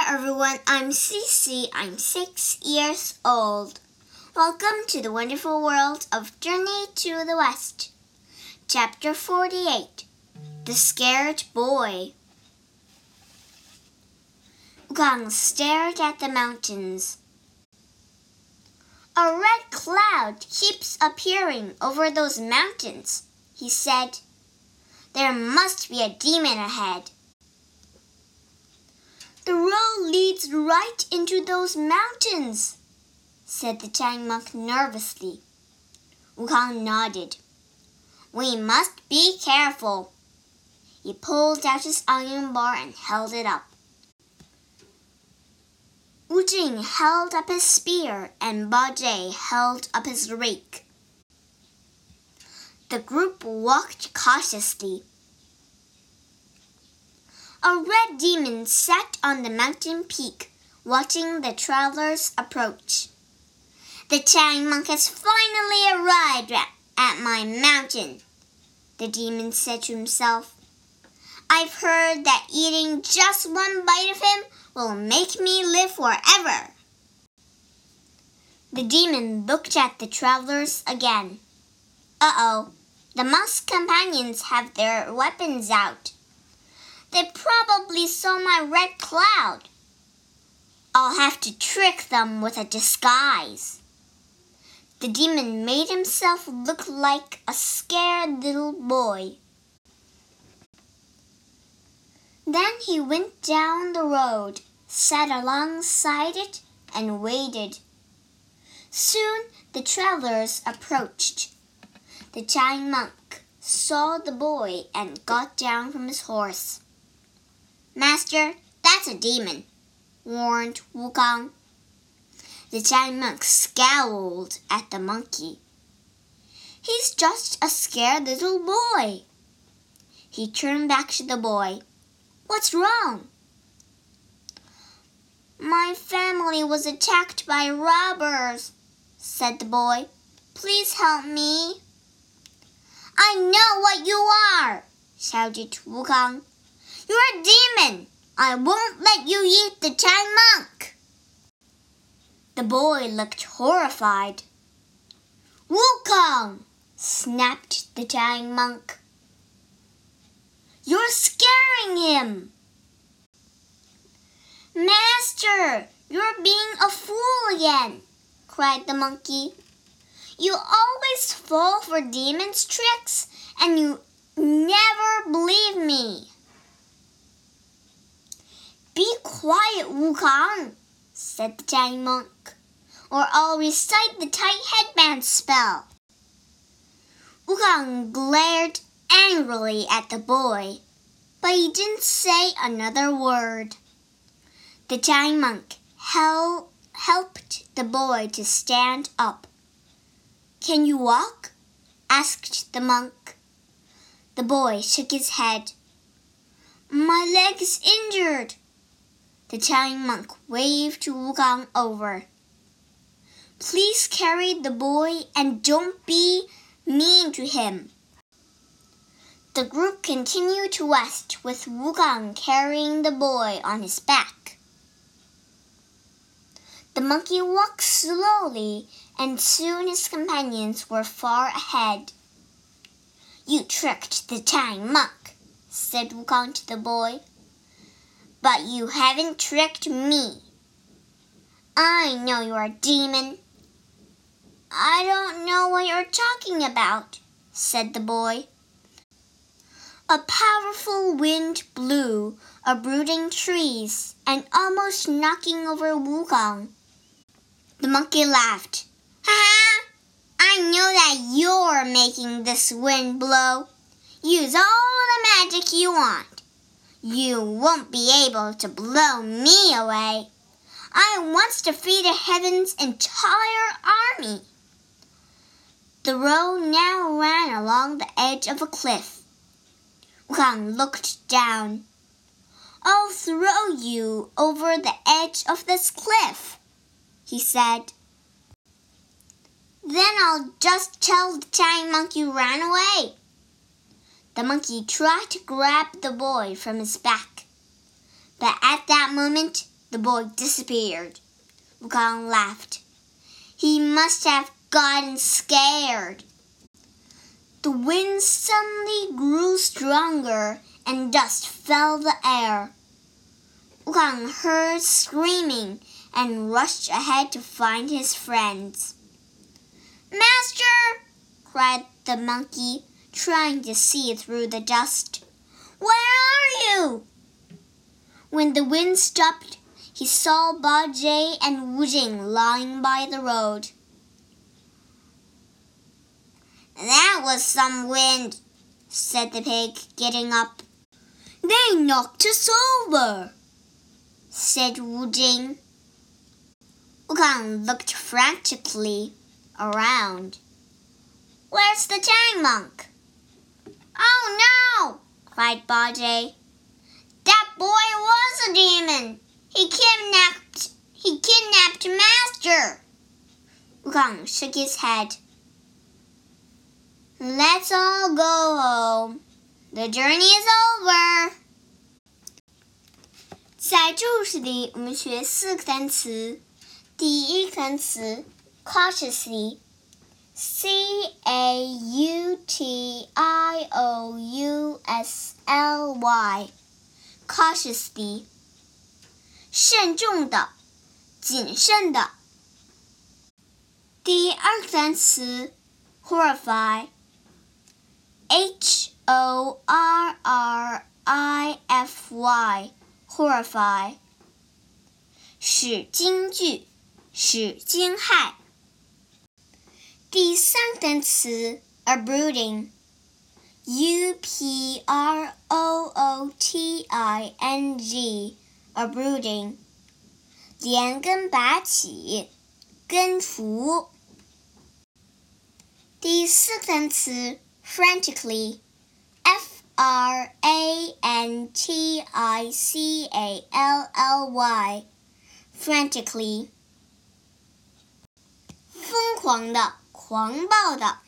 everyone, I'm Cece. I'm 6 years old. Welcome to the wonderful world of Journey to the West. Chapter 48, The Scared Boy. Wukong stared at the mountains. A red cloud keeps appearing over those mountains, he said. There must be a demon ahead. The road leads right into those mountains, said the Tang monk nervously. Wukong nodded. We must be careful. He pulled out his iron bar and held it up. Wu Jing held up his spear and Ba Jie held up his rake. The group walked cautiously. A red demon sat on the mountain peak, watching the travelers approach. The Tang monk has finally arrived at my mountain, the demon said to himself. I've heard that eating just one bite of him will make me live forever. The demon looked at the travelers again. Uh-oh, the monk's companions have their weapons out. They probably saw my red cloud. I'll have to trick them with a disguise. The demon made himself look like a scared little boy. Then he went down the road, sat alongside it, and waited. Soon the travelers approached. The Tang monk saw the boy and got down from his horse. Master, that's a demon, warned Wukong. The Tang monk scowled at the monkey. He's just a scared little boy. He turned back to the boy. What's wrong? My family was attacked by robbers, said the boy. Please help me. I know what you are, shouted Wukong. You're a demon. I won't let you eat the Tang monk. The boy looked horrified. Wukong, snapped the Tang monk. You're scaring him. Master, you're being a fool again, cried the monkey. You always fall for demons' tricks, and you never believe me. Be quiet, Wukong, said the Tang monk, or I'll recite the tight headband spell. Wukong glared angrily at the boy, but he didn't say another word. The Tang monk helped the boy to stand up. Can you walk? Asked the monk. The boy shook his head. My leg is injured. The Tang monk waved to Wukong over. Please carry the boy and don't be mean to him. The group continued to west with Wukong carrying the boy on his back. The monkey walked slowly, and soon his companions were far ahead. You tricked the Tang monk, said Wukong to the boy. But you haven't tricked me. I know you're a demon. I don't know what you're talking about, said the boy. A powerful wind blew, uprooting trees and almost knocking over Wukong. The monkey laughed. Ha! I know that you're making this wind blow. Use all the magic you want. You won't be able to blow me away. I once defeated heaven's entire army. The road now ran along the edge of a cliff. Wukong looked down. I'll throw you over the edge of this cliff, he said. Then I'll just tell the Tang monk you ran away. The monkey tried to grab the boy from his back, but at that moment, the boy disappeared. Wukong laughed. He must have gotten scared. The wind suddenly grew stronger and dust filled the air. Wukong heard screaming and rushed ahead to find his friends. "Master!" cried the monkey, trying to see through the dust. "Where are you?" When the wind stopped, he saw Bajie and Wu Jing lying by the road. "That was some wind," said the pig, getting up. "They knocked us over," said Wu Jing. Wukong looked frantically around. "Where's the Tang monk?" "Oh no!" cried Bajie. "That boy was a demon. He kidnapped Master." Wukong shook his head. "Let's all go home. The journey is over." 在这故事里，我们学4个单词。第一个单词 cautiously， cautiously， cautiously， 慎重的，谨慎的。第二个单词 horrify， horrify， horrify， 使惊惧，使惊骇。第三个单词 uprooting， uprooting， uprooting， 连根拔起，根除。第四个单词 frantically， frantically， frantically， 疯狂的，狂暴的。